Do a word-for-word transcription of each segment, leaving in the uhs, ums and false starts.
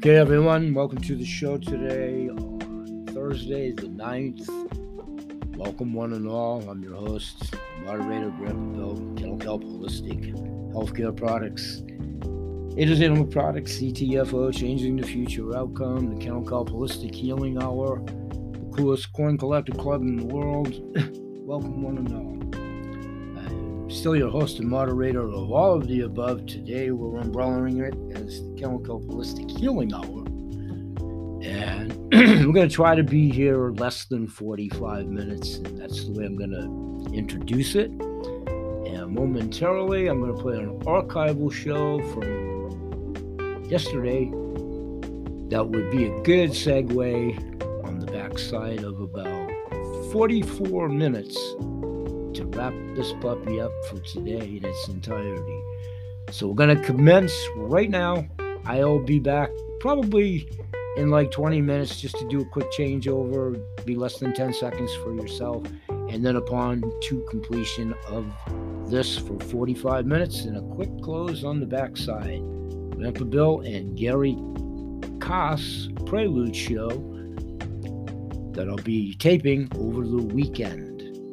Okay, everyone, welcome to the show today on Thursday, the ninth. Welcome, one and all. I'm your host, moderator, Grandpa Bill, Kennel Kelp Holistic Healthcare Products. It is Animal Products, C T F O, Changing the Future Outcome, the Kennel Kelp Holistic Healing Hour, the coolest coin collector club in the world. Welcome, one and all. I'm still your host and moderator of all of the above. Today, we're umbrellaing it as the Kennel Kelp Holistic Healing Hour. And we're going to try to be here less than forty-five minutes, and that's the way I'm going to introduce it. And momentarily, I'm going to play an archival show from yesterday that would be a good segue on the backside of about forty-four minutes to wrap this puppy up for today in its entirety. So we're going to commence right now. I'll be back probably in like twenty minutes just to do a quick changeover, be less than ten seconds for yourself. And then upon to completion of this for forty-five minutes and a quick close on the backside. Grandpa Bill and Gary Koss Prelude show that I'll be taping over the weekend.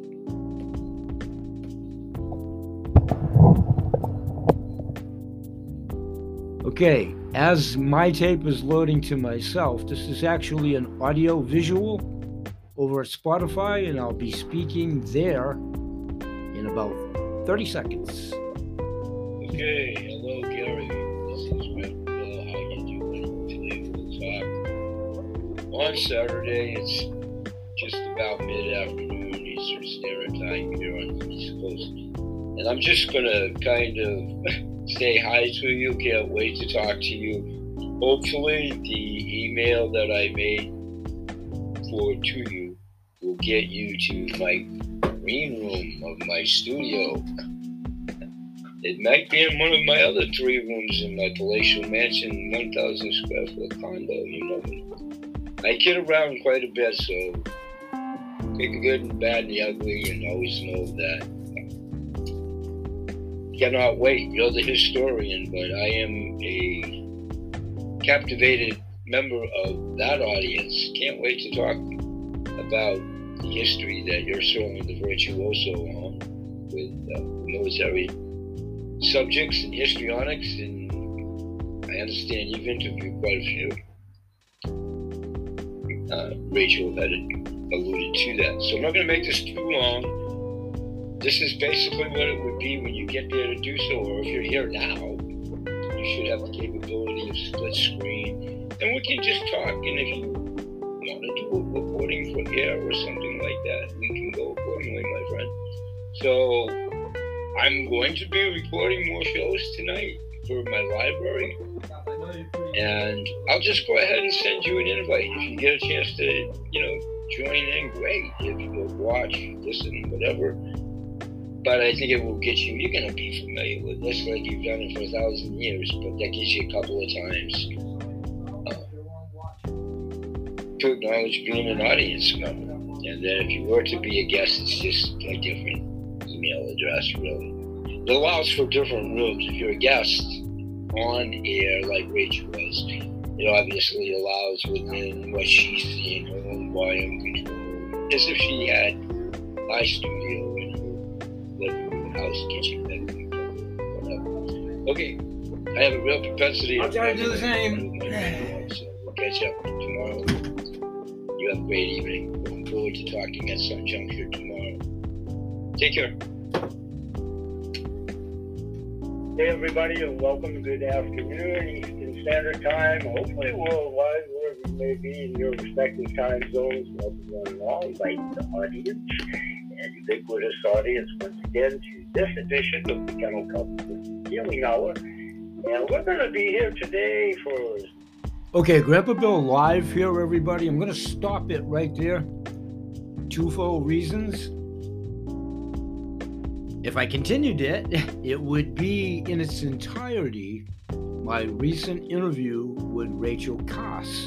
Okay, as my tape is loading to myself, this is actually an audio visual over at Spotify, and I'll be speaking there in about thirty seconds. Okay, hello Gary, this is Grandpa Bill. How you doing? Today we'll talk. On Saturday, it's just about mid-afternoon Eastern Standard Time here on the East Coast. And I'm just going to kind of say hi to you. Can't wait to talk to you. Hopefully the email that I made for to you will get you to my green room of my studio. It might be in one of my other three rooms in my palatial mansion, one thousand square foot condo, you know. I kid around quite a bit, so take the good and bad and the ugly, and always know that. Cannot wait. You're the historian, but I am a captivated member of that audience. Can't wait to talk about the history that you're certainly the virtuoso on with uh, military subjects and histrionics, and I understand you've interviewed quite a few. Uh, Rachel had alluded to that. So I'm not going to make this too long. This is basically what it would be when you get there to do so, or if you're here now, you should have the capability of split screen, and we can just talk, and if you want to do a recording for air or something like that, we can go accordingly, my friend. So I'm going to be recording more shows tonight for my library, and I'll just go ahead and send you an invite. If you get a chance to, you know, join in, great. If you watch, listen, whatever. But I think it will get you, you're going to be familiar with this like you've done it for a thousand years, but that gives you a couple of times uh, to acknowledge being an audience member. And then if you were to be a guest, it's just a different email address, really. It allows for different rooms. If you're a guest on air like Rachel was, it obviously allows within what she's seeing, her own volume control, as if she had my studio in her living room, house, kitchen, bedroom, whatever. Okay, I have a real propensity I'll try to do the same. So we'll catch up tomorrow. You have a great evening. Looking forward to talking at some juncture tomorrow. Take care. Hey everybody, and welcome. Good afternoon, Eastern Standard Time. Hopefully worldwide, wherever you may be in your respective time zones. Welcome one and all. Invite the audience and ubiquitous audience once again to this edition of the Kennel Kelp Healing Hour. And we're going to be here today for... Okay, Grandpa Bill live here, everybody. I'm going to stop it right there. Twofold reasons. If I continued it, it would be in its entirety my recent interview with Rachel Koss.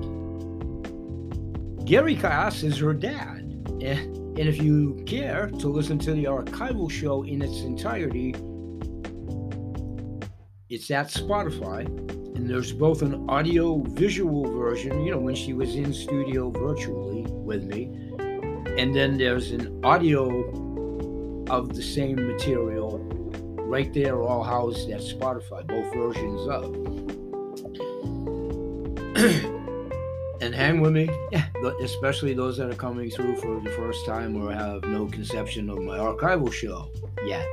Gary Koss is her dad. And if you care to listen to the archival show in its entirety, it's at Spotify. And there's both an audio-visual version, you know, when she was in studio virtually with me, and then there's an audio of the same material right there, all housed at Spotify, both versions of. And hang with me, yeah, especially those that are coming through for the first time or have no conception of my archival show yet.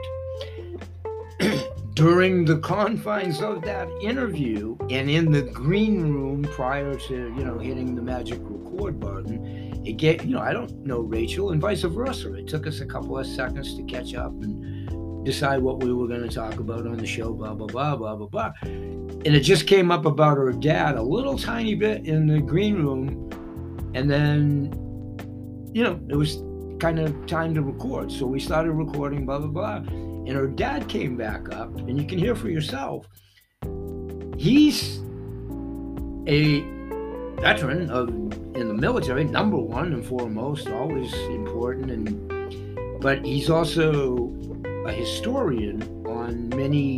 During the confines of that interview and in the green room prior to, you know, hitting the magic record button, it get, you know, I don't know Rachel and vice versa. It took us a couple of seconds to catch up and decide what we were going to talk about on the show, blah, blah, blah, blah, blah, blah. And it just came up about her dad a little tiny bit in the green room. And then, you know, it was kind of time to record. So we started recording, blah, blah, blah. And her dad came back up, and you can hear for yourself. He's a veteran of in the military, number one and foremost, always important, and but he's also a historian on many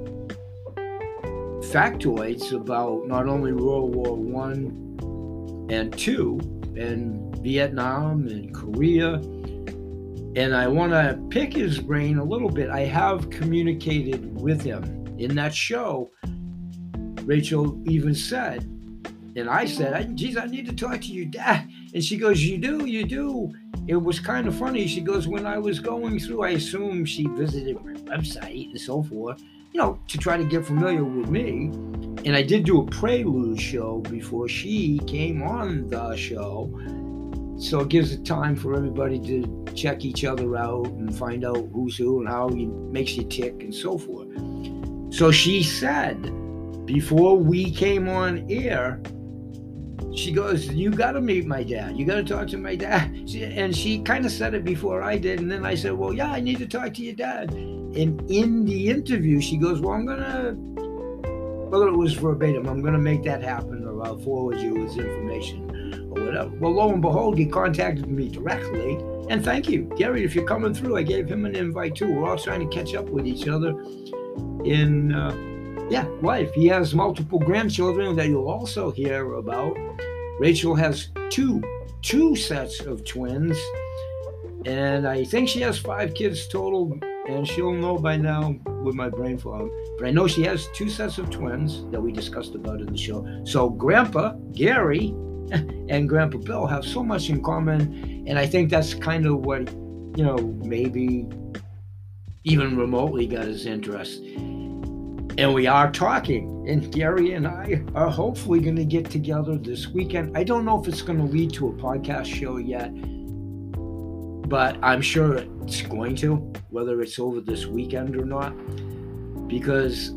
factoids about not only World War One and Two, and Vietnam and Korea. And I want to pick his brain a little bit. I have communicated with him. In that show, Rachel even said, and I said, geez, I need to talk to your dad. And she goes, you do, you do. It was kind of funny. She goes, when I was going through, I assume she visited my website and so forth, you know, to try to get familiar with me. And I did do a prelude show before she came on the show. So it gives it time for everybody to check each other out and find out who's who and how he makes you tick and so forth. So she said, before we came on air, she goes, you got to meet my dad. You got to talk to my dad. She, and she kind of said it before I did. And then I said, well, yeah, I need to talk to your dad. And in the interview, she goes, well, I'm going to, whether it was verbatim, I'm going to make that happen, or I'll forward you his information. Whatever. Well, lo and behold, he contacted me directly, and thank you, Gary, if you're coming through. I gave him an invite too. We're all trying to catch up with each other in, uh, yeah, life. He has multiple grandchildren that you'll also hear about. Rachel has two, two sets of twins, and I think she has five kids total, and she'll know by now with my brain fog. But I know she has two sets of twins that we discussed about in the show. So Grandpa, Gary, and Grandpa Bill have so much in common, and I think that's kind of what, you know, maybe even remotely got his interest. And we are talking, and Gary and I are hopefully going to get together this weekend. I don't know if it's going to lead to a podcast show yet, but I'm sure it's going to, whether it's over this weekend or not, because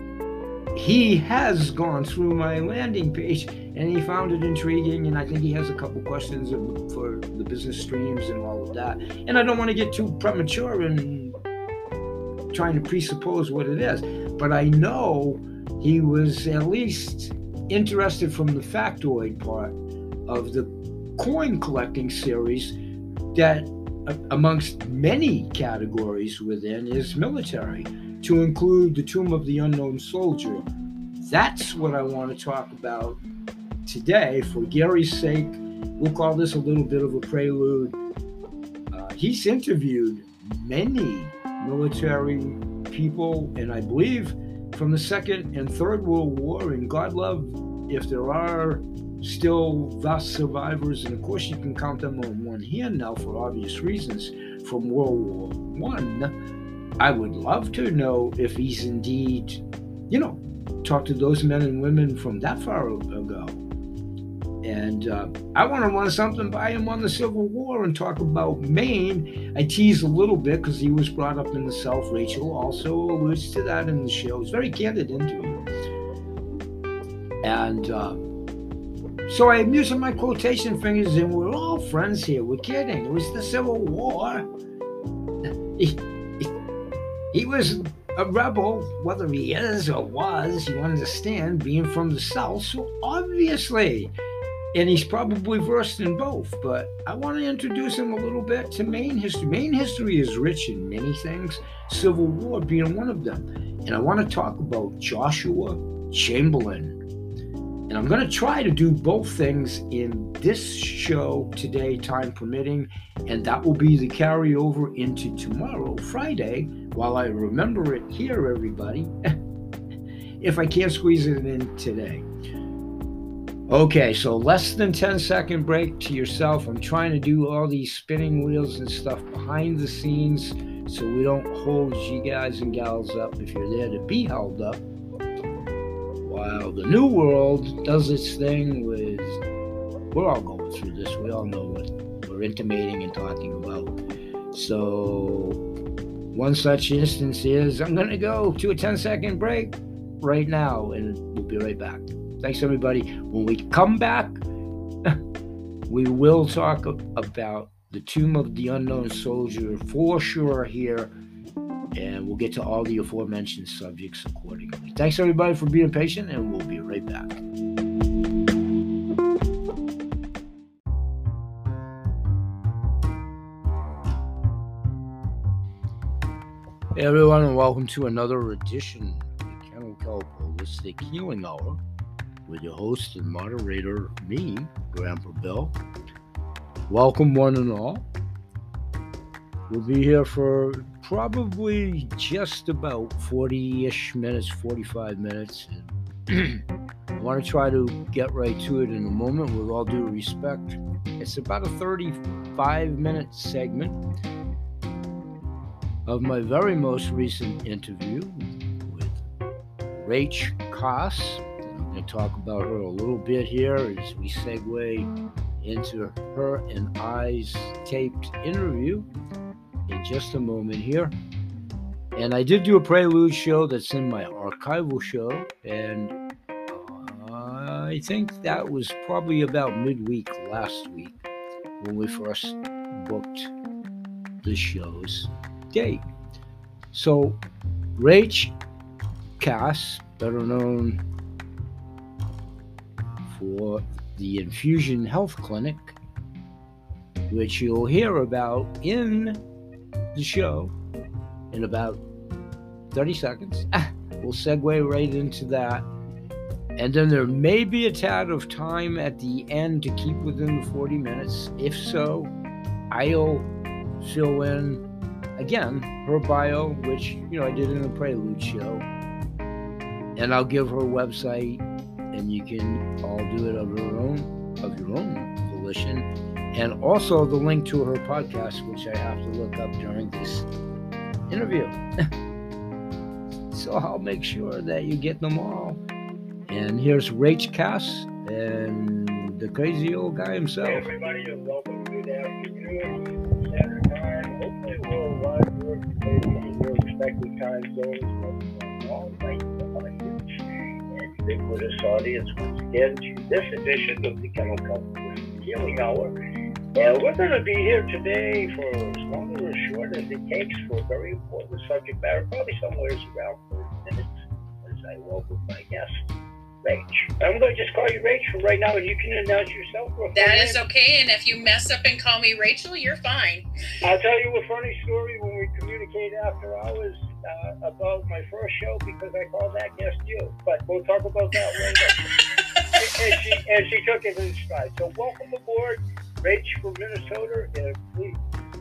he has gone through my landing page and he found it intriguing, and I think he has a couple questions for the business streams and all of that. And I don't want to get too premature in trying to presuppose what it is, but I know he was at least interested from the factoid part of the coin collecting series that, amongst many categories within, is military, to include the Tomb of the Unknown Soldier. That's what I want to talk about today. For Gary's sake, we'll call this a little bit of a prelude. Uh, he's interviewed many military people, and I believe from the Second and Third World War, and God love if there are still vast survivors, and of course you can count them on one hand now for obvious reasons, from World War One. I would love to know if he's indeed, you know, talked to those men and women from that far ago. And uh, I want to run something by him on the Civil War and talk about Maine. I tease a little bit because he was brought up in the South. Rachel also alludes to that in the show. It's a very candid interview. And uh, so I'm using my quotation fingers, and we're all friends here. We're kidding. It was the Civil War. He, he, he was a rebel, whether he is or was, you understand, being from the South. So obviously, and he's probably versed in both, but I want to introduce him a little bit to Maine history. Maine history is rich in many things, Civil War being one of them. And I want to talk about Joshua Chamberlain. And I'm going to try to do both things in this show today, time permitting, and that will be the carryover into tomorrow, Friday, while I remember it here, everybody, if I can't squeeze it in today. Okay, so less than ten second break to yourself. I'm trying to do all these spinning wheels and stuff behind the scenes so we don't hold you guys and gals up if you're there to be held up. While the new world does its thing with, we're all going through this. We all know what we're intimating and talking about. So one such instance is I'm going to go to a ten second break right now, and we'll be right back. Thanks, everybody. When we come back, we will talk about the Tomb of the Unknown Soldier for sure here, and we'll get to all the aforementioned subjects accordingly. Thanks, everybody, for being patient, and we'll be right back. Hey, everyone, and welcome to another edition of the Kennel Kelp Holistic Healing Hour with your host and moderator, me, Grandpa Bill. Welcome, one and all. We'll be here for probably just about forty-ish minutes, forty-five minutes. I want to try to get right to it in a moment with all due respect. It's about a thirty-five minute segment of my very most recent interview with Rach Koss. I'm going to talk about her a little bit here as we segue into her and I's taped interview in just a moment here. And I did do a prelude show that's in my archival show, and uh, I think that was probably about midweek last week when we first booked the show's date. So Rach Koss, better known for the Infusion Health Clinic, which you'll hear about in the show in about thirty seconds. We'll segue right into that. And then there may be a tad of time at the end to keep within the forty minutes. If so, I'll fill in, again, her bio, which, you know, I did in a prelude show. And I'll give her website, and you can all do it of your own, of your own volition. And also the link to her podcast, which I have to look up during this interview. So I'll make sure that you get them all. And here's Rach Koss and the crazy old guy himself. Hey everybody, and welcome to the afternoon, Standard Time, hopefully worldwide, we're in your respective time zones, all night, audience, and ubiquitous audience once again to this edition of the Kennel Kelp Healing Hour. And we're going to be here today for as long or as short as it takes for a very important subject matter, probably somewhere around thirty minutes, as I welcome my guest, Rach. I'm going to just call you Rach for right now, and you can announce yourself. That is okay, and if you mess up and call me Rachel, you're fine. I'll tell you a funny story when we communicate after hours uh, about my first show, because I called that guest you, but we'll talk about that later. and, she, and she took it in stride. So welcome aboard, Rach from Minnesota, and please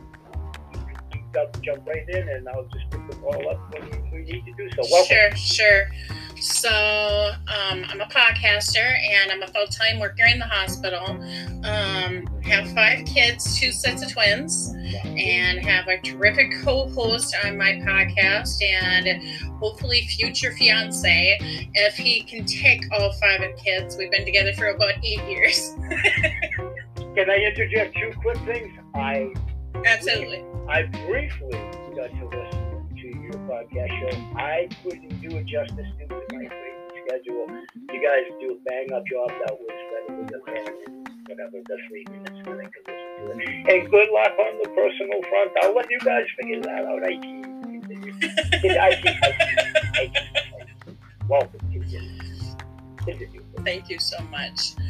jump right in, and I'll just pick the ball up when we need to do so. Welcome. Sure, sure. So um, I'm a podcaster, and I'm a full-time worker in the hospital. Um, have five kids, two sets of twins, and have a terrific co-host on my podcast, and hopefully future fiance, if he can take all five of kids. We've been together for about eight years. Can I interject two quick things? I Absolutely. I briefly got to listen to your podcast show. I couldn't do it justice due to my crazy schedule. You guys do a bang up job. That was readily apparent. Whatever, the three minutes that I could listen to it. And good luck on the personal front. I'll let you guys figure that out. I keep, I keep, I keep, I keep. Welcome to you. Thank you so much.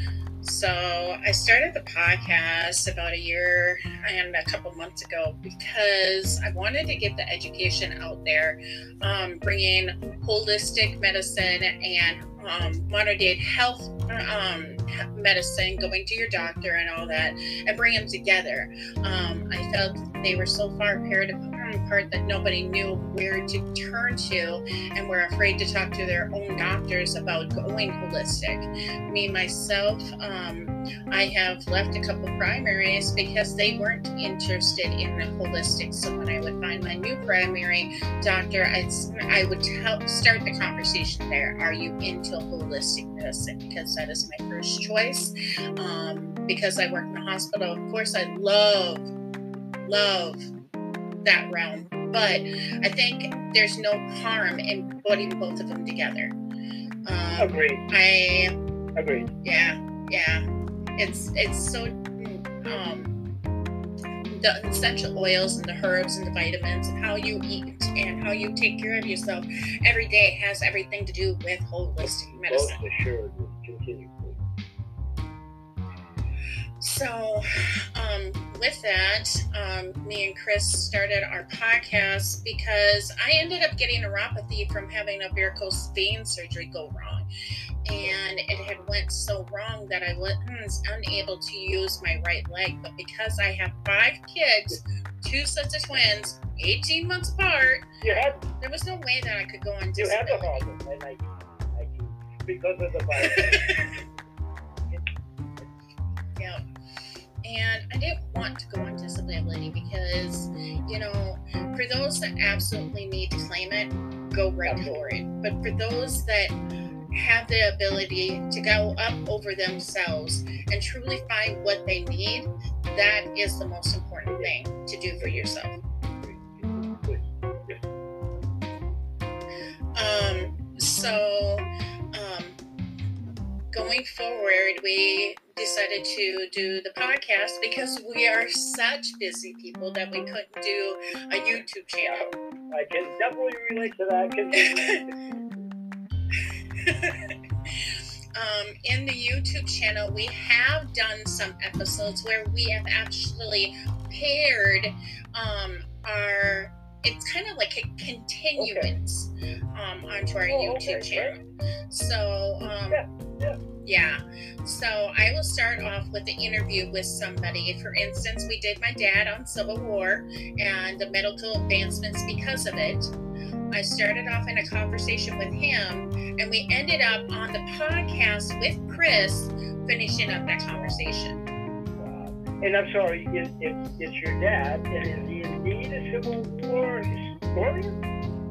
So I started the podcast about a year and a couple months ago because I wanted to get the education out there, um, bringing holistic medicine and um, modern day health um, medicine, going to your doctor and all that, and bring them together. Um, I felt they were so far apart apart that nobody knew where to turn to and were afraid to talk to their own doctors about going holistic. Me, myself, um, I have left a couple primaries because they weren't interested in the holistic. So when I would find my new primary doctor, I'd, I would help start the conversation there. Are you into holistic medicine? Because that is my first choice. Um, because I work in the hospital, of course, I love, love that realm, but I think there's no harm in putting both of them together. Um, Agreed. I Agreed. Yeah, yeah. It's it's so um, the essential oils and the herbs and the vitamins and how you eat and how you take care of yourself every day has everything to do with holistic medicine. Most assured, continue. So, um, with that, um, me and Chris started our podcast because I ended up getting neuropathy from having a varicose vein surgery go wrong. And it had went so wrong that I was unable to use my right leg. But because I have five kids, two sets of twins, eighteen months apart, You had, there was no way that I could go on you had the disability. problem, and I, I, because of the virus. Yeah. And I didn't want to go on disability because, you know, for those that absolutely need to claim it, go right for it. But for those that have the ability to go up over themselves and truly find what they need, that is the most important thing to do for yourself. Um, so, um, going forward, we decided to do the podcast because we are such busy people that we couldn't do a YouTube channel. I can definitely relate to that. Continue. um, in the YouTube channel, we have done some episodes where we have actually paired um, our, it's kind of like a continuance um, onto our Oh, YouTube okay, channel. So, um, Yeah, yeah. yeah. So I will start off with the interview with somebody. For instance, we did my dad on Civil War and the medical advancements because of it. I started off in a conversation with him, and we ended up on the podcast with Chris, finishing up that conversation. Wow. And I'm sorry, it, it, it's your dad, and is he indeed a Civil War historian?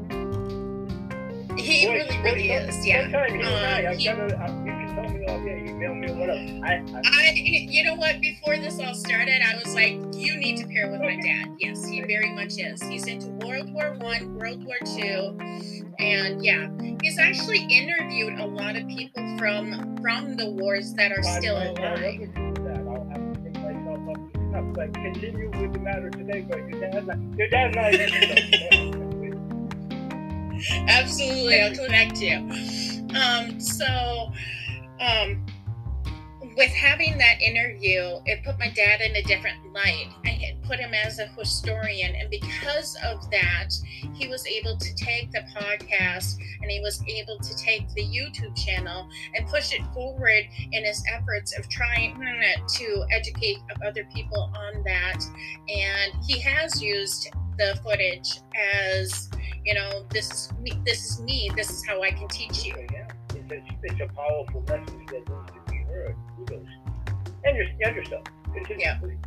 He Boy, really, boy, really some- is, yeah. Sometime he and I, Um, I've he- got to, uh, you can tell me, oh, yeah, email me or whatever. I, I, I, you know what? Before this all started, I was like, "You need to pair with my dad." Yes, he very much is. He's into World War One, World War Two, and yeah, he's actually interviewed a lot of people from from the wars that are I still might not alive. ever do that. I'll have to pick myself up to snuff. But continue with the matter today. But your dad's not, your dad's not even Absolutely, I'll connect you. Um, so, um, with having that interview, it put my dad in a different light. I had put him as a historian, and because of that, he was able to take the podcast and he was able to take the YouTube channel and push it forward in his efforts of trying to educate other people on that. And he has used the footage as, you know, this is me, this is me, this is how I can teach you. Yeah, it's a, it's a powerful message that needs to be heard. Kudos. And, your, and yourself. Continue, Yeah. please.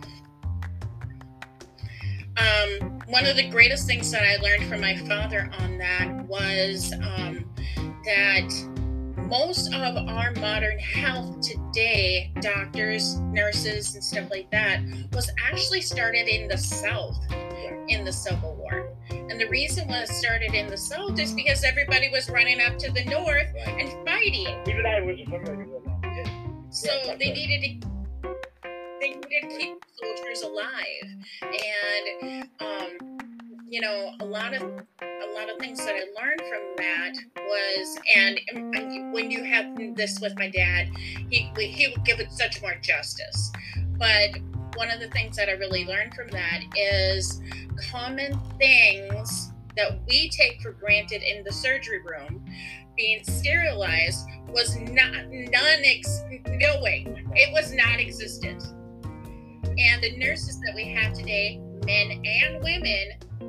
Um, one of the greatest things that I learned from my father on that was um, that most of our modern health today, doctors, nurses, and stuff like that, was actually started in the South in the Civil War. And the reason why it started in the South is because everybody was running up to the North and fighting. Even I wasn't familiar with that. Yeah. So Yeah, that's they right. needed to they needed to keep soldiers alive. And um, you know, a lot of a lot of things that I learned from that was, and, and when you have this with my dad, he he would give it such more justice. But one of the things that I really learned from that is common things that we take for granted in the surgery room, being sterilized, was not none ex, no way, it was not existent. And the nurses that we have today, men and women,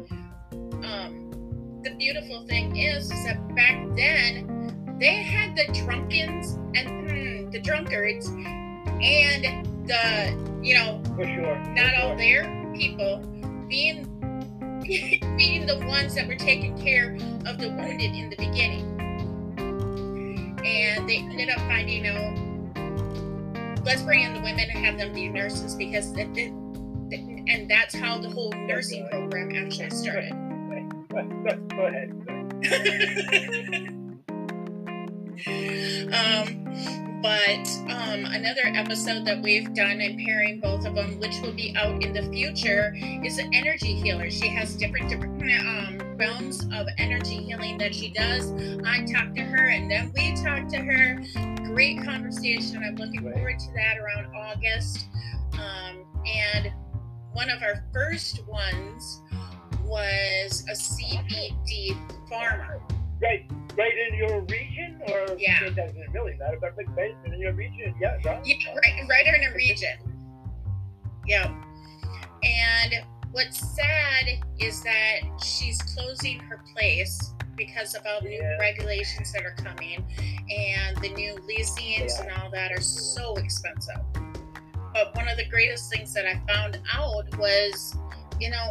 um, the beautiful thing is, is that back then they had the drunkens and mm, the drunkards and the, you know, For sure. not For all sure. their people being being the ones that were taking care of the wounded in the beginning. And they ended up finding out, let's bring in the women and have them be nurses, because it, it, and that's how the whole nursing program actually started. Go, go, go ahead. Go ahead. um, but um, another episode that we've done in pairing both of them, which will be out in the future, is an energy healer. She has different different um, realms of energy healing that she does. I talk to her, and then we talk to her. Great conversation. I'm looking forward to that around August. Um, and one of our first ones was a C B D farmer. Right, right in your region, or Yeah. it doesn't really matter, but like right in your region, yeah, right? Yeah, right, right in a region. Yep. And what's sad is that she's closing her place because of all the new Yeah. regulations that are coming, and the new leasings Yeah. and all that are so expensive. But one of the greatest things that I found out was, you know,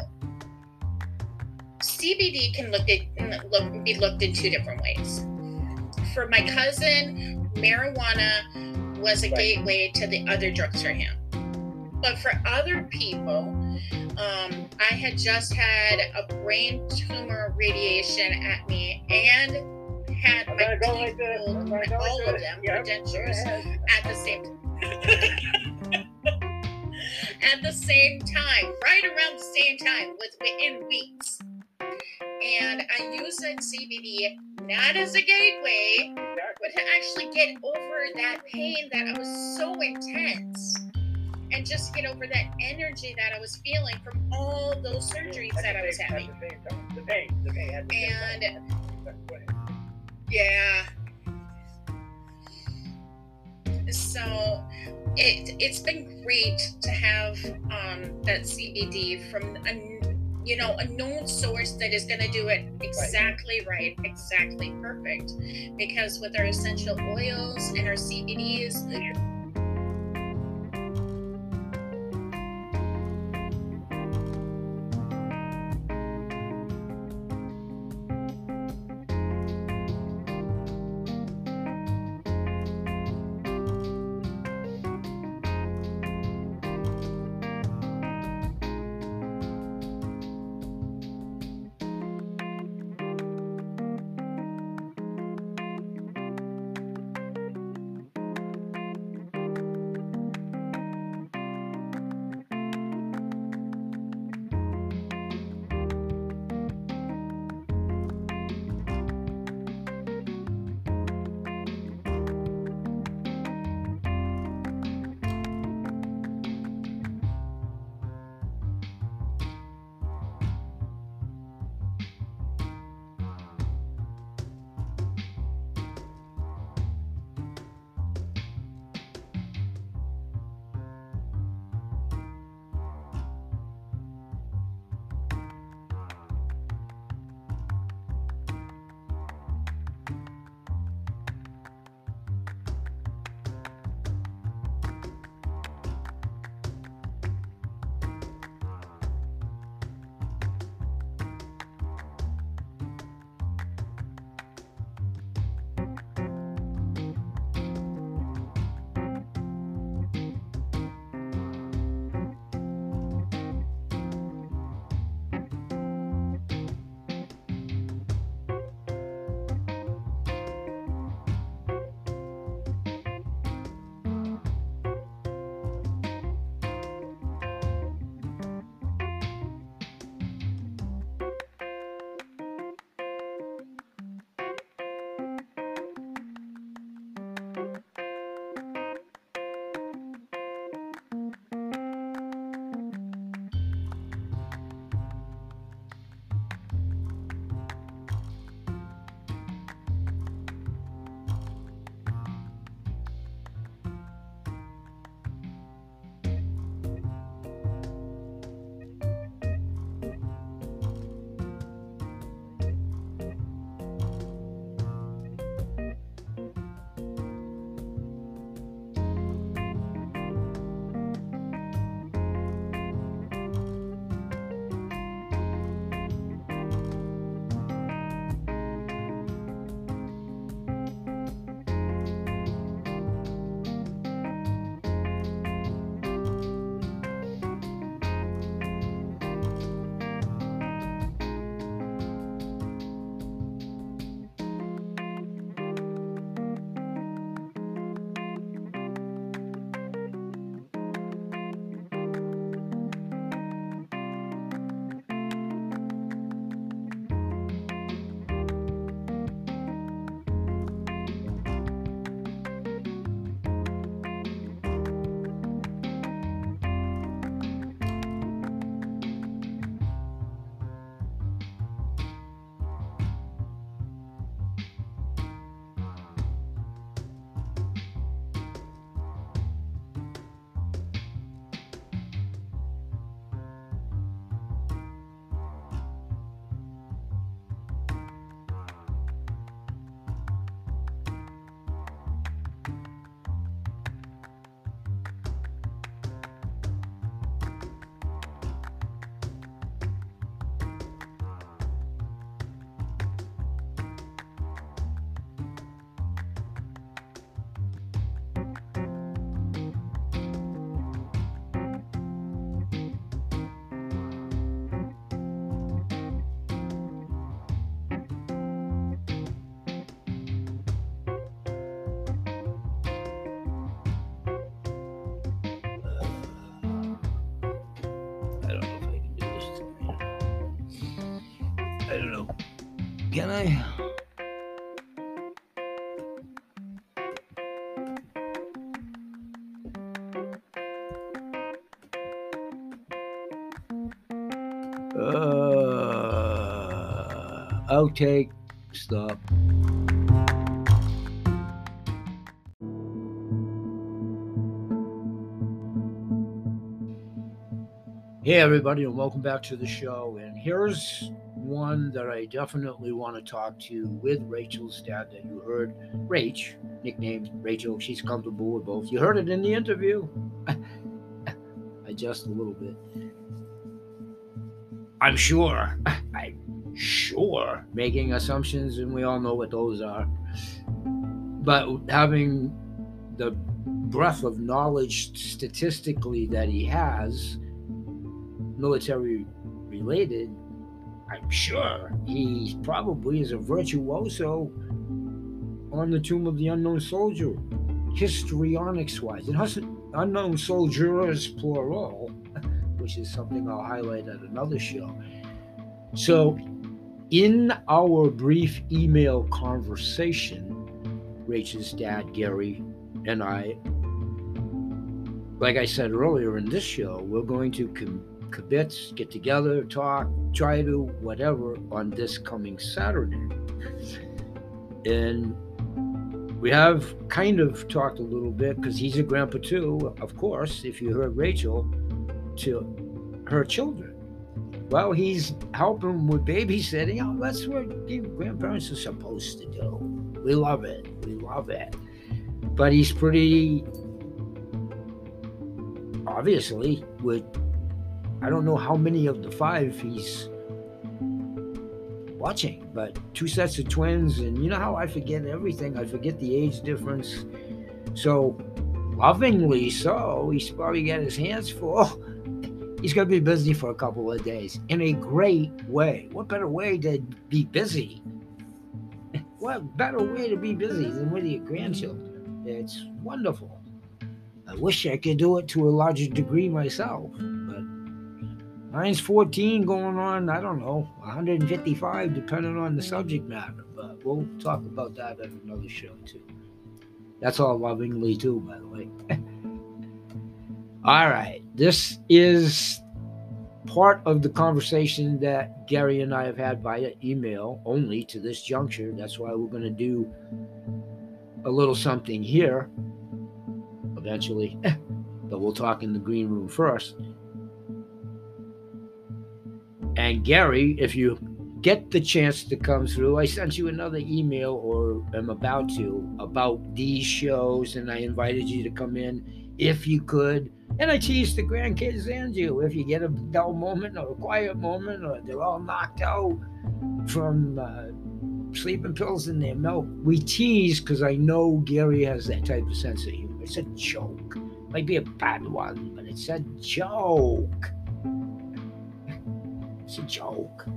C B D can look at, look, be looked in two different ways. For my cousin, marijuana was a Right. gateway to the other drugs for him. But for other people, um, I had just had a brain tumor radiation at me and had I'm my gonna go teeth like this. pulled, I'm gonna go all like of this. them, Yeah, for go dentures, ahead. at the same at the same time, right around the same time, within weeks. And I used that C B D not as a gateway, but to actually get over that pain that was so intense, and just get over that energy that I was feeling from all those surgeries At that the I was same- having. At the same time. The pain, the pain at the same And- time. Go ahead. Yeah. So it it's been great to have um, that C B D from a you know a known source that is going to do it exactly right, exactly perfect. Because with our essential oils and our C B Ds, I don't know. Can I? Uh, outtake. Stop. Hey everybody, and welcome back to the show. And here's one that I definitely want to talk to with Rachel's dad that you heard. Rach, nicknamed Rachel, she's comfortable with both. You heard it in the interview. I just a little bit. I'm sure, I'm sure, making assumptions, and we all know what those are. But having the breadth of knowledge statistically that he has, military related, I'm sure he probably is a virtuoso on the Tomb of the Unknown Soldier, histrionics wise. It has unknown soldiers plural, which is something I'll highlight at another show. So in our brief email conversation, Rachel's dad, Gary, and I, like I said earlier in this show, we're going to com- Kibitz, get together, talk, try to whatever on this coming Saturday. And we have kind of talked a little bit, because he's a grandpa too, of course, if you heard Rachel, to her children. Well, he's helping with babysitting. Oh, that's what grandparents are supposed to do. We love it. We love it. But he's pretty, obviously, with I don't know how many of the five he's watching, but two sets of twins, and you know how I forget everything. I forget the age difference. So, lovingly so, he's probably got his hands full. He's going to be busy for a couple of days in a great way. What better way to be busy? What better way to be busy than with your grandchildren? It's wonderful. I wish I could do it to a larger degree myself, but mine's fourteen going on, I don't know, one hundred fifty-five, depending on the subject matter. But we'll talk about that at another show, too. That's all lovingly, too, by the way. All right. This is part of the conversation that Gary and I have had via email only to this juncture. That's why we're going to do a little something here eventually. But we'll talk in the green room first. And Gary, if you get the chance to come through, I sent you another email, or am about to, about these shows, and I invited you to come in if you could. And I teased the grandkids and you, if you get a dull moment or a quiet moment, or they're all knocked out from uh, sleeping pills in their milk. We tease because I know Gary has that type of sense of humor. It's a joke. Might be a bad one, but it's a joke. It's a joke.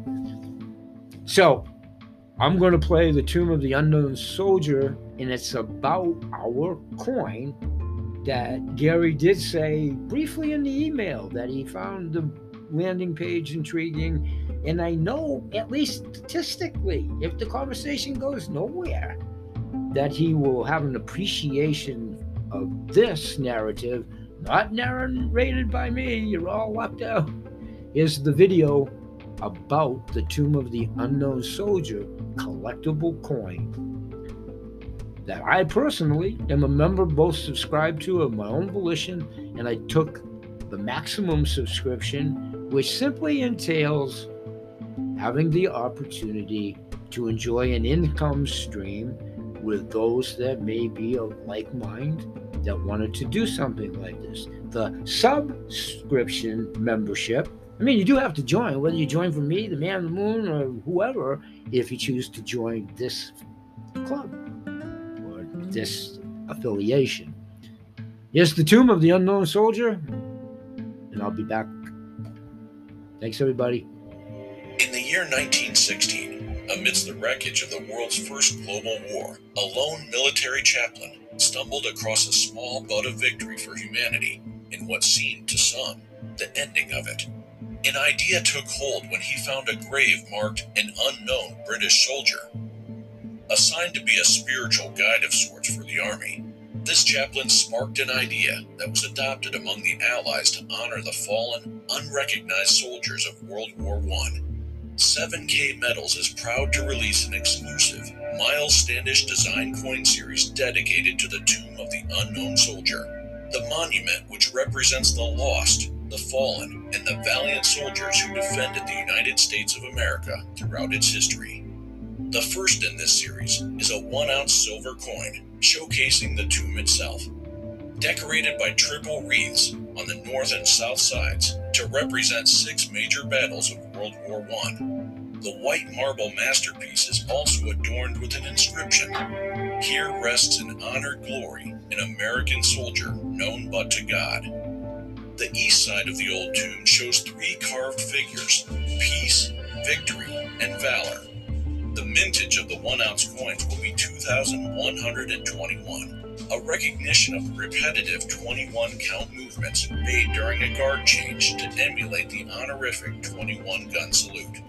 So, I'm going to play the Tomb of the Unknown Soldier, and it's about our coin that Gary did say briefly in the email that he found the landing page intriguing. And I know, at least statistically, if the conversation goes nowhere, that he will have an appreciation of this narrative, not narrated by me. You're all left out. Here's the video about the Tomb of the Unknown Soldier collectible coin that I personally am a member, both subscribed to of my own volition, and I took the maximum subscription, which simply entails having the opportunity to enjoy an income stream with those that may be of like mind that wanted to do something like this. The subscription membership, I mean, you do have to join, whether you join from me, the Man on the Moon, or whoever, if you choose to join this club or this affiliation. Here's the Tomb of the Unknown Soldier, and I'll be back. Thanks, everybody. In the year nineteen sixteen, amidst the wreckage of the world's first global war, a lone military chaplain stumbled across a small bud of victory for humanity in what seemed to some the ending of it. An idea took hold when he found a grave marked "An Unknown British Soldier." Assigned to be a spiritual guide of sorts for the Army, this chaplain sparked an idea that was adopted among the Allies to honor the fallen, unrecognized soldiers of World War One. seven K Metals is proud to release an exclusive Miles Standish design coin series dedicated to the tomb of the unknown soldier. The monument, which represents the lost, the fallen, and the valiant soldiers who defended the United States of America throughout its history. The first in this series is a one-ounce silver coin showcasing the tomb itself, decorated by triple wreaths on the north and south sides to represent six major battles of World War One. The white marble masterpiece is also adorned with an inscription: "Here rests in honored glory an American soldier known but to God." The east side of the old tomb shows three carved figures: peace, victory, and valor. The mintage of the one-ounce coins will be two thousand one hundred twenty-one, a recognition of the repetitive twenty-one count movements made during a guard change to emulate the honorific twenty-one gun salute.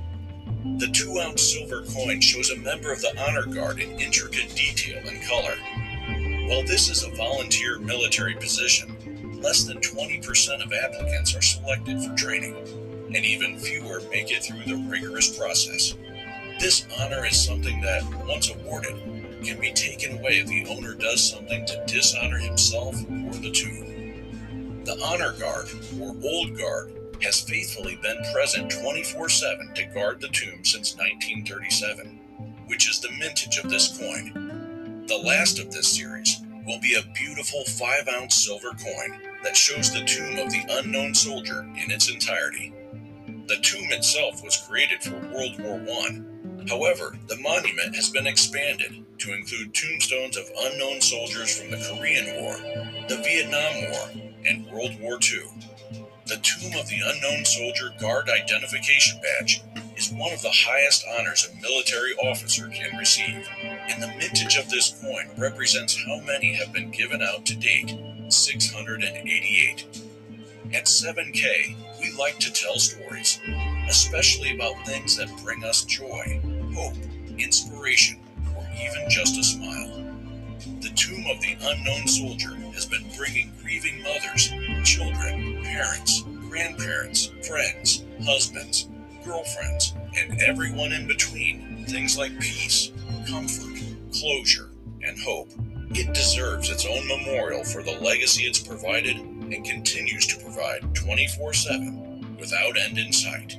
The two-ounce silver coin shows a member of the honor guard in intricate detail and color. While this is a volunteer military position, less than twenty percent of applicants are selected for training, and even fewer make it through the rigorous process. This honor is something that, once awarded, can be taken away if the owner does something to dishonor himself or the tomb. The honor guard, or old guard, has faithfully been present twenty-four seven to guard the tomb since nineteen thirty-seven, which is the mintage of this coin. The last of this series will be a beautiful five-ounce silver coin that shows the tomb of the unknown soldier in its entirety. The tomb itself was created for World War One. However, the monument has been expanded to include tombstones of unknown soldiers from the Korean War, the Vietnam War, and World War Two. The Tomb of the Unknown Soldier Guard Identification Badge is one of the highest honors a military officer can receive, and the mintage of this coin represents how many have been given out to date: six hundred eighty-eight. At seven K, we like to tell stories, especially about things that bring us joy, hope, inspiration, or even just a smile. The Tomb of the Unknown Soldier has been bringing grieving mothers, children, parents, grandparents, friends, husbands, girlfriends, and everyone in between things like peace, comfort, closure, and hope. It deserves its own memorial for the legacy it's provided and continues to provide twenty-four seven without end in sight.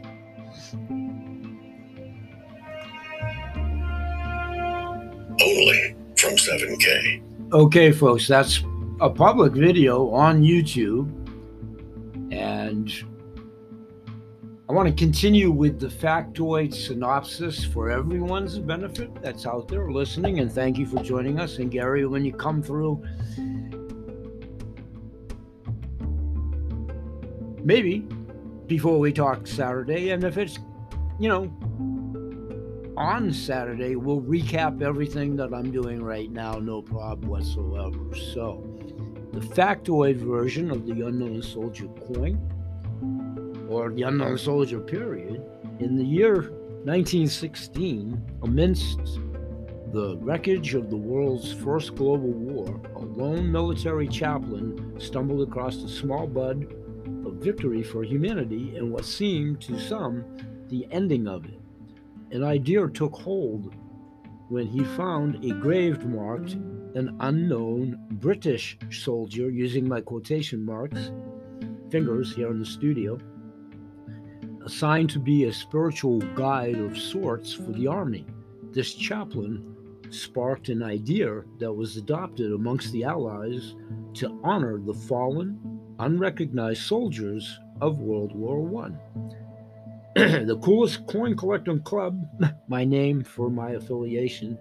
Only from seven K. Okay, folks, that's a public video on YouTube, and I want to continue with the factoid synopsis for everyone's benefit that's out there listening, and thank you for joining us. And Gary, when you come through, maybe before we talk Saturday, and if it's, you know, on Saturday, we'll recap everything that I'm doing right now, no problem whatsoever. So, the factoid version of the Unknown Soldier coin, or the Unknown Soldier period, in the year nineteen sixteen, amidst the wreckage of the world's first global war, a lone military chaplain stumbled across a small bud of victory for humanity and what seemed to some the ending of it. An idea took hold when he found a grave marked "An Unknown British Soldier," using my quotation marks, fingers here in the studio, assigned to be a spiritual guide of sorts for the Army. This chaplain sparked an idea that was adopted amongst the Allies to honor the fallen, unrecognized soldiers of World War One. The Coolest Coin Collecting Club, my name for my affiliation,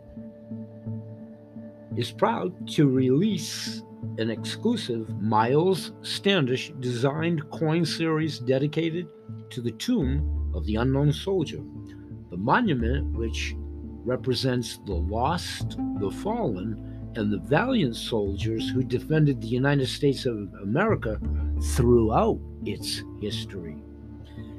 is proud to release an exclusive Miles Standish designed coin series dedicated to the Tomb of the Unknown Soldier. The monument, which represents the lost, the fallen, and the valiant soldiers who defended the United States of America throughout its history.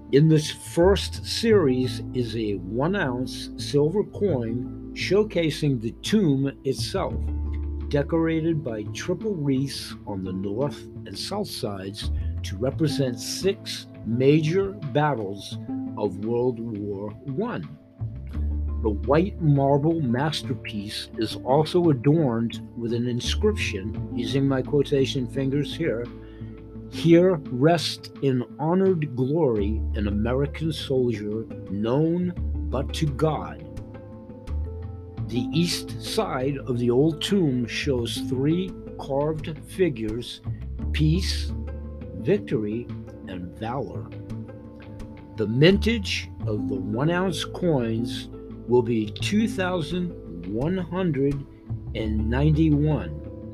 In this first series is a one ounce silver coin showcasing the tomb itself, decorated by triple wreaths on the north and south sides to represent six major battles of World War One. The white marble masterpiece is also adorned with an inscription, using my quotation fingers here, "Here rests in honored glory an American soldier known but to God." The east side of the old tomb shows three carved figures: peace, victory, and valor. The mintage of the one ounce coins will be two thousand one hundred ninety-one.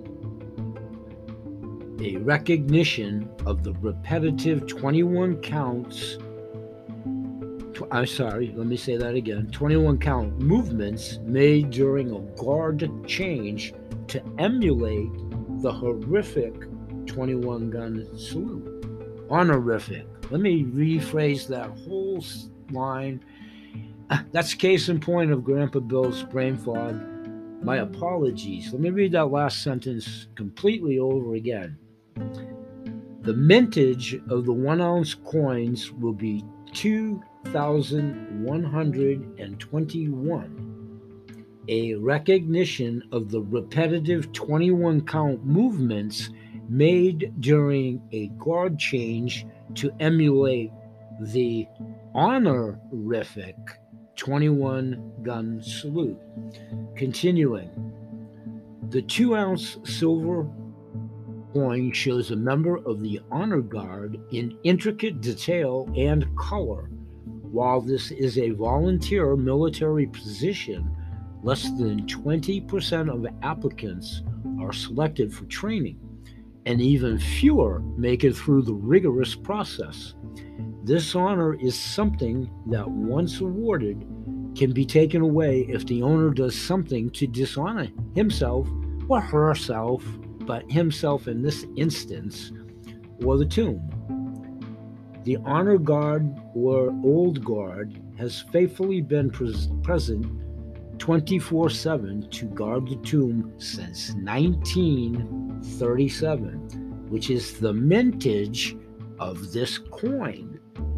A recognition of the repetitive twenty-one counts, tw- I'm sorry, let me say that again, twenty-one count movements made during a guard change to emulate the horrific twenty-one gun salute. Honorific. Let me rephrase that whole line. That's case in point of Grandpa Bill's brain fog. My apologies. Let me read that last sentence completely over again. The mintage of the one ounce coins will be two thousand one hundred twenty-one. A recognition of the repetitive twenty-one count movements made during a guard change to emulate the honorific twenty-one gun salute. Continuing, the two ounce silver coin shows a member of the honor guard in intricate detail and color. While this is a volunteer military position, less than twenty percent of applicants are selected for training, and even fewer make it through the rigorous process. This honor is something that, once awarded, can be taken away if the owner does something to dishonor himself or herself, but himself in this instance, or the tomb. The honor guard or old guard has faithfully been pres- present twenty-four seven to guard the tomb since nineteen thirty-seven, which is the mintage of this coin.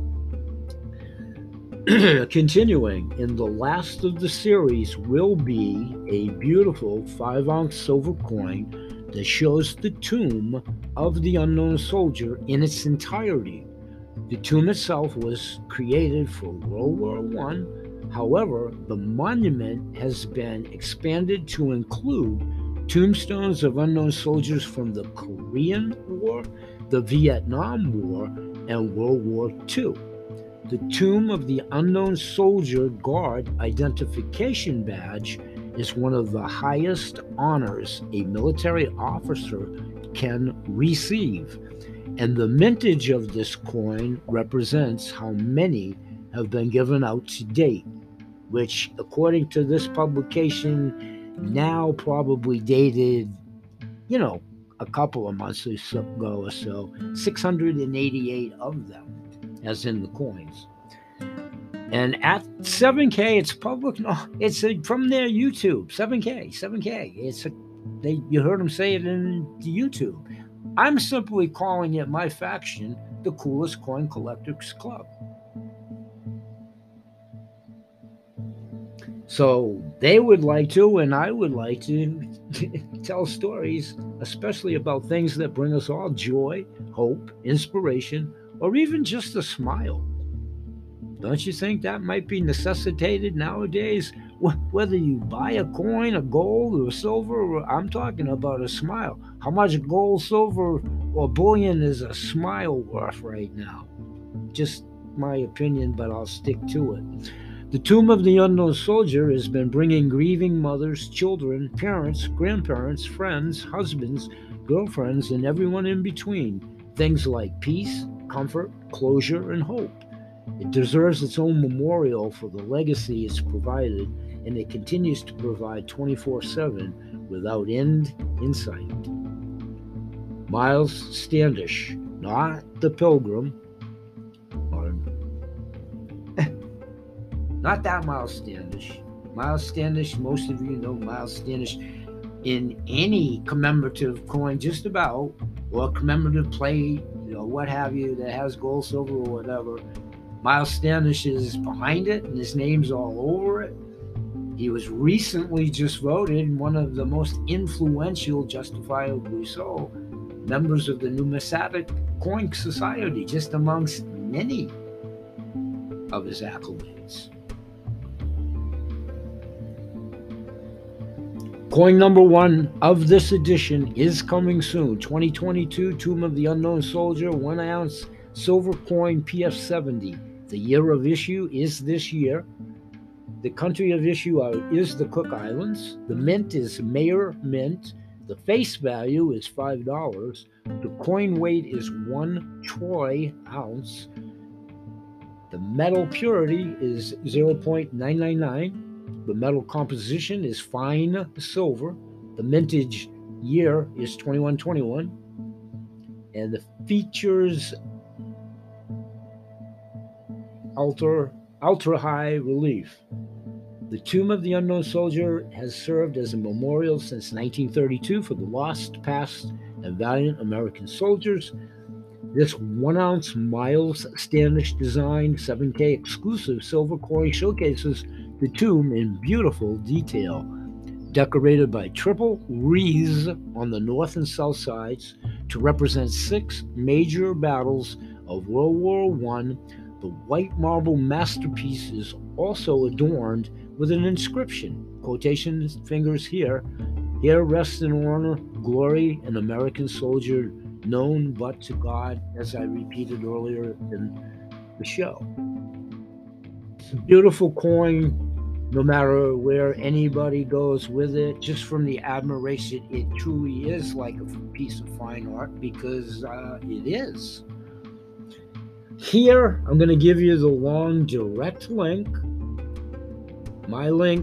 Continuing, in the last of the series will be a beautiful five ounce silver coin that shows the tomb of the unknown soldier in its entirety. The tomb itself was created for World War One. However, the monument has been expanded to include tombstones of unknown soldiers from the Korean War, the Vietnam War, and World War Two. The Tomb of the Unknown Soldier Guard Identification Badge is one of the highest honors a military officer can receive, and the mintage of this coin represents how many have been given out to date, which, according to this publication, now probably dated, you know, a couple of months ago or so, six hundred eighty-eight of them, as in the coins. And at seven K, it's public. No, it's a, from their YouTube. seven K, seven K. It's a, they. You heard them say it in the YouTube. I'm simply calling it my faction, the Coolest Coin Collectors Club. So they would like to, and I would like to tell stories, especially about things that bring us all joy, hope, inspiration, or even just a smile. Don't you think that might be necessitated nowadays? Whether you buy a coin, a gold, or silver, or I'm talking about a smile. How much gold, silver, or bullion is a smile worth right now? Just my opinion, but I'll stick to it. The Tomb of the Unknown Soldier has been bringing grieving mothers, children, parents, grandparents, friends, husbands, girlfriends, and everyone in between things like peace, comfort, closure, and hope. It deserves its own memorial for the legacy it's provided, and it continues to provide twenty-four seven without end in sight. Miles Standish, not the Pilgrim, or Not that Miles Standish. Miles Standish, most of you know Miles Standish in any commemorative coin, just about, or commemorative plate, you know, what have you, that has gold, silver, or whatever. Miles Standish is behind it, and his name's all over it. He was recently just voted one of the most influential, justifiably so, members of the Numismatic Coin Society, just amongst many of his accolades. Coin number one of this edition is coming soon. twenty twenty-two Tomb of the Unknown Soldier, one ounce silver coin P F seventy. The year of issue is this year. The country of issue are, is the Cook Islands. The mint is Mayer Mint. The face value is five dollars. The coin weight is one troy ounce. The metal purity is zero point nine nine nine. The metal composition is fine silver. The mintage year is twenty-one twenty-one. And the features ultra, ultra high relief. The Tomb of the Unknown Soldier has served as a memorial since nineteen thirty-two for the lost, past, and valiant American soldiers. This one ounce Miles Standish design seven K exclusive silver coin showcases the tomb in beautiful detail, decorated by triple wreaths on the north and south sides to represent six major battles of World War One. The white marble masterpiece is also adorned with an inscription, quotation fingers here, "Here rests in honor, glory, an American soldier known but to God," as I repeated earlier in the show. It's a beautiful coin, no matter where anybody goes with it, just from the admiration. It truly is like a piece of fine art, because uh, it is. Here, I'm going to give you the long direct link, my link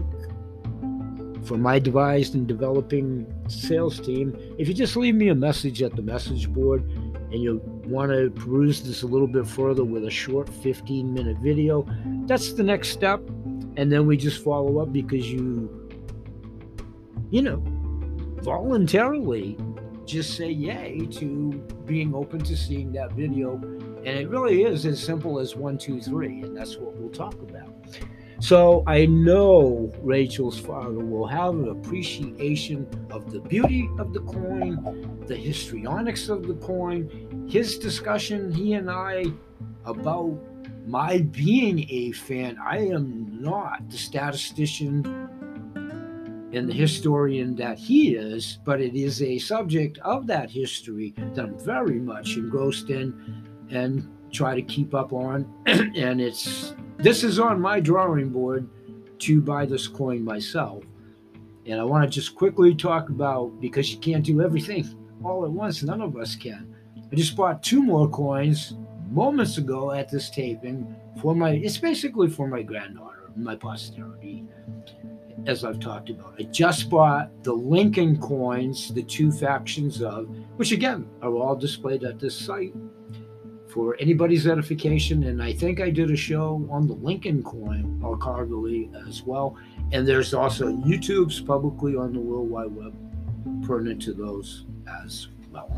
for my devised and developing sales team. If you just leave me a message at the message board and you want to peruse this a little bit further with a short fifteen minute video, that's the next step. And then we just follow up because you, you know, voluntarily just say yay to being open to seeing that video. And it really is as simple as one, two, three. And that's what we'll talk about. So I know Rachel's father will have an appreciation of the beauty of the coin, the histrionics of the coin, his discussion, he and I, about my being a fan. I am not the statistician and the historian that he is, but it is a subject of that history that I'm very much engrossed in and try to keep up on. And it's this is on my drawing board to buy this coin myself. And I want to just quickly talk about, because you can't do everything all at once, none of us can. I just bought two more coins moments ago at this taping for my, it's basically for my granddaughter, my posterity, as I've talked about. I just bought the Lincoln coins, the two factions of, which again are all displayed at this site for anybody's edification. And I think I did a show on the Lincoln coin, or Cargily, as well. And there's also YouTube's publicly on the World Wide Web pertinent to those as well.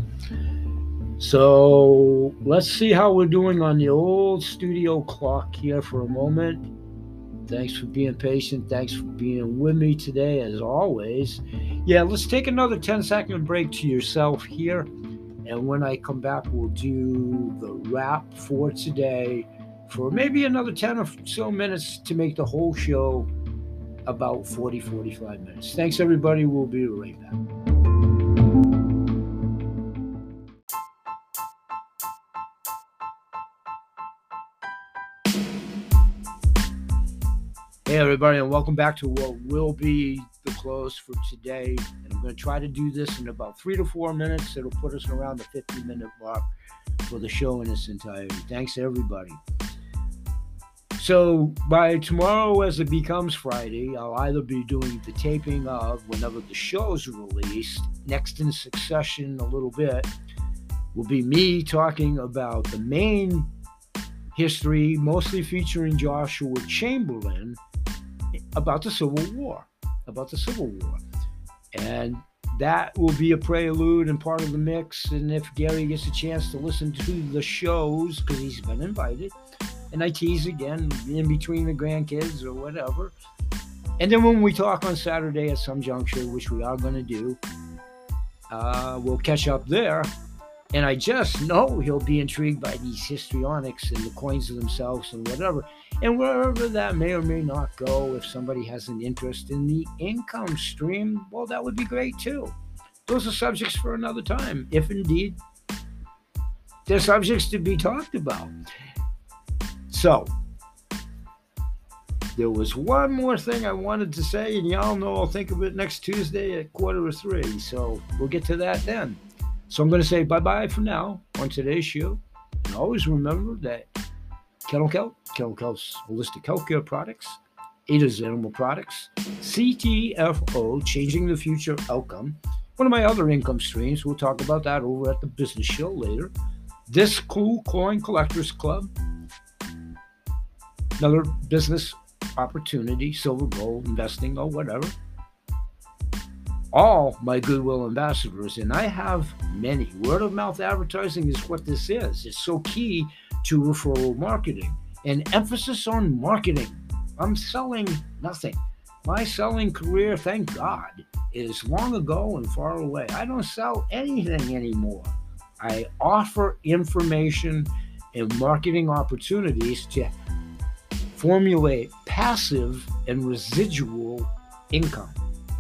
So let's see how we're doing on the old studio clock here for a moment. Thanks for being patient. Thanks for being with me today, as always. Yeah, let's take another ten second break to yourself here. And when I come back, we'll do the wrap for today for maybe another ten or so minutes to make the whole show about forty, forty-five minutes. Thanks, everybody. We'll be right back. Hey everybody, and welcome back to what will be the close for today. And I'm going to try to do this in about three to four minutes. It'll put us around the fifty minute mark for the show in its entirety. Thanks everybody. So by tomorrow, as it becomes Friday, I'll either be doing the taping of whenever the show's released, next in succession a little bit, will be me talking about the main history, mostly featuring Joshua Chamberlain, about the Civil War, about the Civil War. And that will be a prelude and part of the mix. And if Gary gets a chance to listen to the shows, because he's been invited, and I tease again in between the grandkids or whatever. And then when we talk on Saturday at some juncture, which we are going to do, uh, we'll catch up there. And I just know he'll be intrigued by these histrionics and the coins themselves and whatever. And wherever that may or may not go, if somebody has an interest in the income stream, well, that would be great too. Those are subjects for another time, if indeed they're subjects to be talked about. So, there was one more thing I wanted to say, and y'all know I'll think of it next Tuesday at quarter to three. So, we'll get to that then. So I'm going to say bye-bye for now on today's show. And always remember that Kettle Kelp, Kettle Kelp's Holistic Healthcare Products, Ada's Animal Products, C T F O, Changing the Future Outcome, one of my other income streams. We'll talk about that over at the business show later. This Cool Coin Collectors Club, another business opportunity, silver, gold, investing, or whatever. All my Goodwill ambassadors, and I have many. Word of mouth advertising is what this is. It's so key to referral marketing and emphasis on marketing. I'm selling nothing. My selling career, thank God, is long ago and far away. I don't sell anything anymore. I offer information and marketing opportunities to formulate passive and residual income.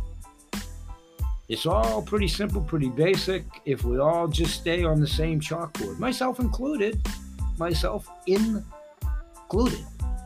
It's all pretty simple, pretty basic, if we all just stay on the same chalkboard. Myself included. Myself included.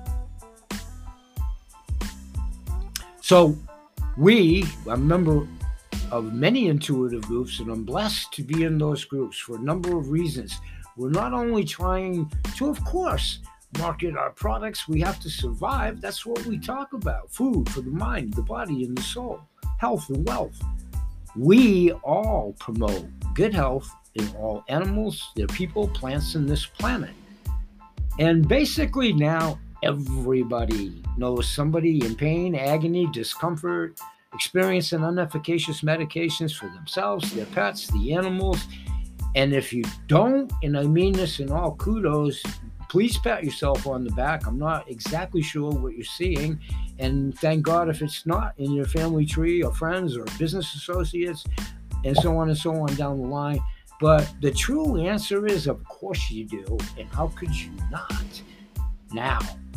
So we, I'm a member of many intuitive groups, and I'm blessed to be in those groups for a number of reasons. We're not only trying to, of course, market our products, we have to survive. That's what we talk about. Food for the mind, the body, and the soul. Health and wealth. We all promote good health in all animals, their people, plants, and this planet. And basically now everybody knows somebody in pain, agony, discomfort, experiencing inefficacious medications for themselves, their pets, the animals. And if you don't, and I mean this in all kudos, please pat yourself on the back. I'm not exactly sure what you're seeing. And thank God if it's not in your family tree or friends or business associates and so on and so on down the line. But the true answer is, of course you do. And how could you not now?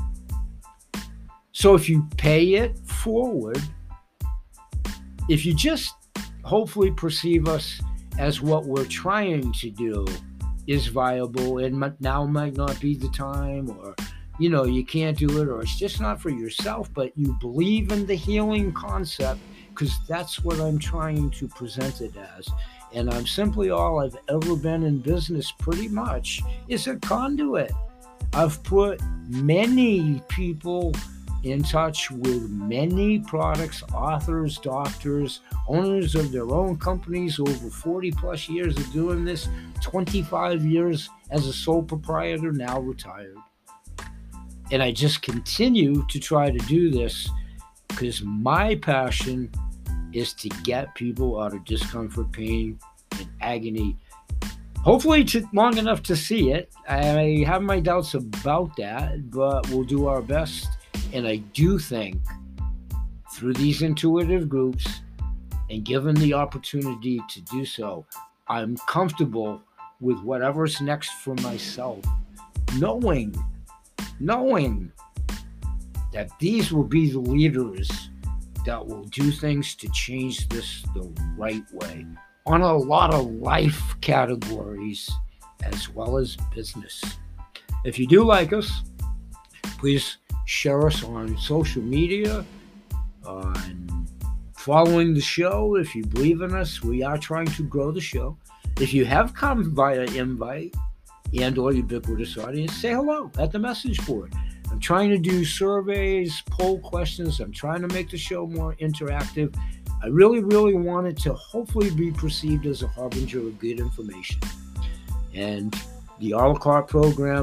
So if you pay it forward, if you just hopefully perceive us as what we're trying to do is viable and now might not be the time, or you know, you can't do it, or it's just not for yourself, but you believe in the healing concept, because that's what I'm trying to present it as. And I'm simply all I've ever been in business pretty much is a conduit. I've put many people in touch with many products, authors, doctors, owners of their own companies, over forty plus years of doing this, twenty-five years as a sole proprietor, now retired. And I just continue to try to do this because my passion is to get people out of discomfort, pain, and agony. Hopefully to, long enough to see it. I have my doubts about that, but we'll do our best. And I do think through these intuitive groups, and given the opportunity to do so, I'm comfortable with whatever's next for myself, knowing knowing that these will be the leaders that will do things to change this the right way on a lot of life categories as well as business. If you do like us, please share us on social media, on following the show. If you believe in us, we are trying to grow the show. If you have come via invite and or ubiquitous audience, say hello at the message board. I'm trying to do surveys, poll questions. I'm trying to make the show more interactive. I really, really want it to hopefully be perceived as a harbinger of good information. And the a la carte program,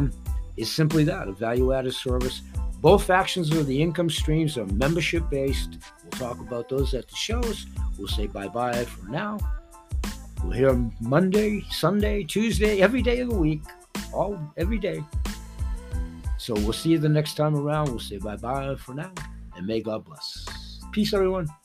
is simply that, a value-added service. Both factions of the income streams are membership-based. We'll talk about those at the shows. We'll say bye-bye for now. We'll hear Monday, Sunday, Tuesday, every day of the week, all every day. So we'll see you the next time around. We'll say bye-bye for now, and may God bless. Peace, everyone.